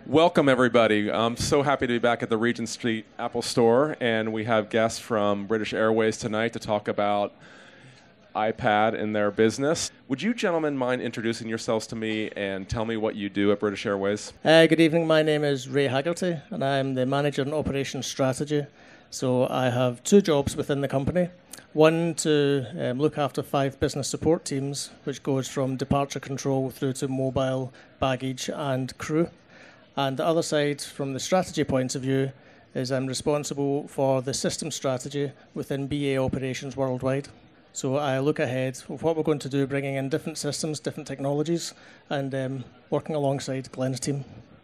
Welcome, everybody. I'm so happy to be back at the Regent Street Apple Store, and we have guests from British Airways tonight to talk about iPad in their business. Would you gentlemen mind introducing yourselves to me and tell me what you do at British Airways? Good evening. My name is Ray Haggerty, and I'm the Manager in Operations Strategy. So I have two jobs within the company. One to look after 5 business support teams, which goes from departure control through to mobile, baggage and crew. And the other side, from the strategy point of view, is I'm responsible for the system strategy within BA operations worldwide. So I look ahead of what we're going to do, bringing in different systems, different technologies, and working alongside Glenn's team.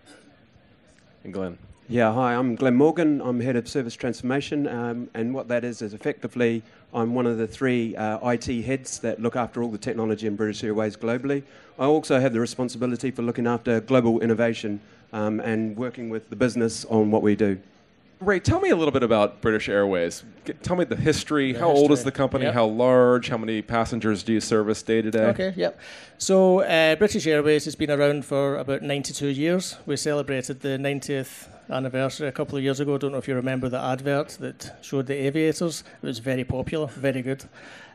And Glenn. Yeah, hi, I'm Glenn Morgan. I'm Head of Service Transformation, and what that is effectively I'm one of the 3 IT heads that look after all the technology in British Airways globally. I also have the responsibility for looking after global innovation and working with the business on what we do. Ray, tell me a little bit about British Airways. Tell me the history. How old is the company? Yep. How large? How many passengers do you service day to day? Okay, yep. So British Airways has been around for about 92 years. We celebrated the 90th anniversary a couple of years ago. I don't know if you remember the advert that showed the aviators. It was very popular, very good.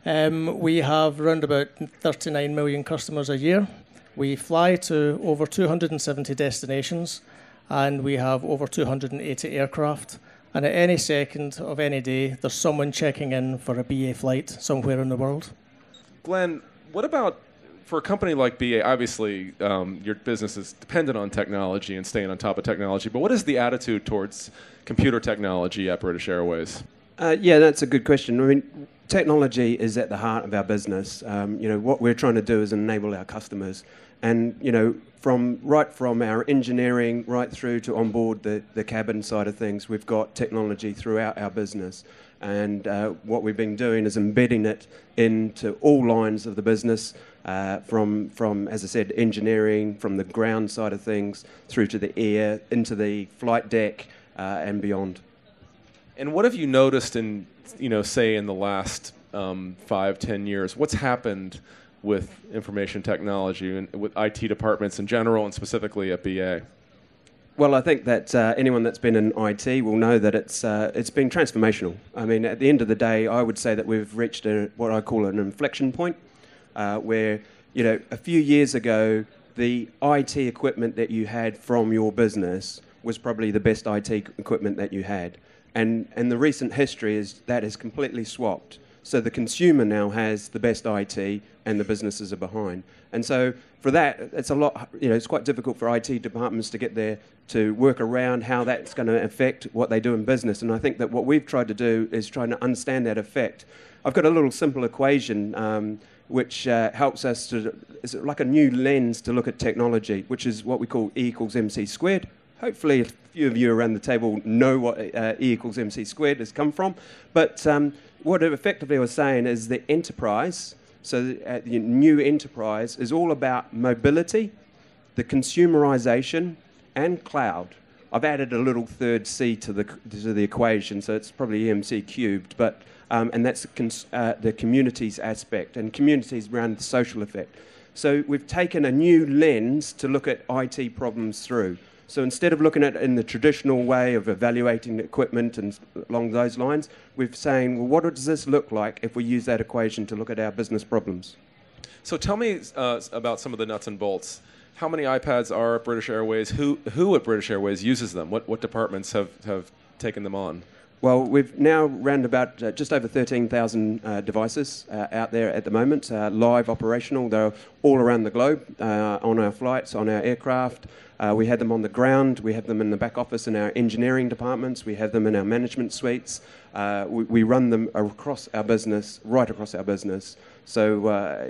We have around about 39 million customers a year. We fly to over 270 destinations, and we have over 280 aircraft. And at any second of any day, there's someone checking in for a BA flight somewhere in the world. Glenn, what about for a company like BA? Obviously, your business is dependent on technology and staying on top of technology, but what is the attitude towards computer technology at British Airways? Yeah, that's a good question. I mean, technology is at the heart of our business. What we're trying to do is enable our customers. And, from our engineering right through to onboard the cabin side of things, we've got technology throughout our business. And what we've been doing is embedding it into all lines of the business, from, as I said, engineering, from the ground side of things, through to the air, into the flight deck, and beyond. And what have you noticed in, say in the last 5-10 years? What's happened with information technology and with IT departments in general and specifically at BA? Well, I think that anyone that's been in IT will know that it's been transformational. I mean, at the end of the day, I would say that we've reached what I call an inflection point, where, a few years ago, the IT equipment that you had from your business was probably the best IT equipment that you had. And the recent history is that has completely swapped. So the consumer now has the best IT and the businesses are behind. And so for that, it's a lot, it's quite difficult for IT departments to get there to work around how that's going to affect what they do in business. And I think that what we've tried to do is trying to understand that effect. I've got a little simple equation which helps us to, it's like a new lens to look at technology, which is what we call E equals MC squared. Hopefully a few of you around the table know what E equals MC squared has come from. But what it effectively was saying is the enterprise, so the new enterprise is all about mobility, the consumerization, and cloud. I've added a little third C to the equation, so it's probably EMC cubed, but and that's the communities aspect, and communities around the social effect. So we've taken a new lens to look at IT problems through. So instead of looking at it in the traditional way of evaluating the equipment and along those lines, we're saying, well, what does this look like if we use that equation to look at our business problems? So tell me about some of the nuts and bolts. How many iPads are at British Airways? Who at British Airways uses them? What departments have taken them on? Well, we've now round about just over 13,000 devices out there at the moment, live operational. They're all around the globe on our flights, on our aircraft. We have them on the ground. We have them in the back office in our engineering departments. We have them in our management suites. We run them across our business, right across our business. So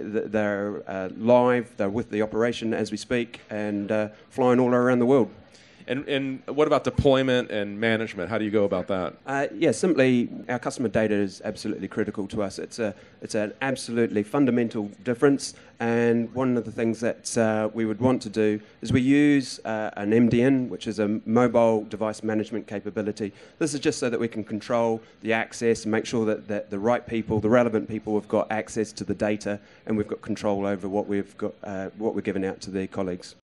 they're live, they're with the operation as we speak, and flying all around the world. And what about deployment and management? How do you go about that? Yeah, simply our customer data is absolutely critical to us. It's an absolutely fundamental difference, and one of the things that we would want to do is we use an MDN, which is a mobile device management capability. This is just so that we can control the access and make sure that the right people, the relevant people, have got access to the data, and we've got control over what we've got, what we're giving out to their colleagues.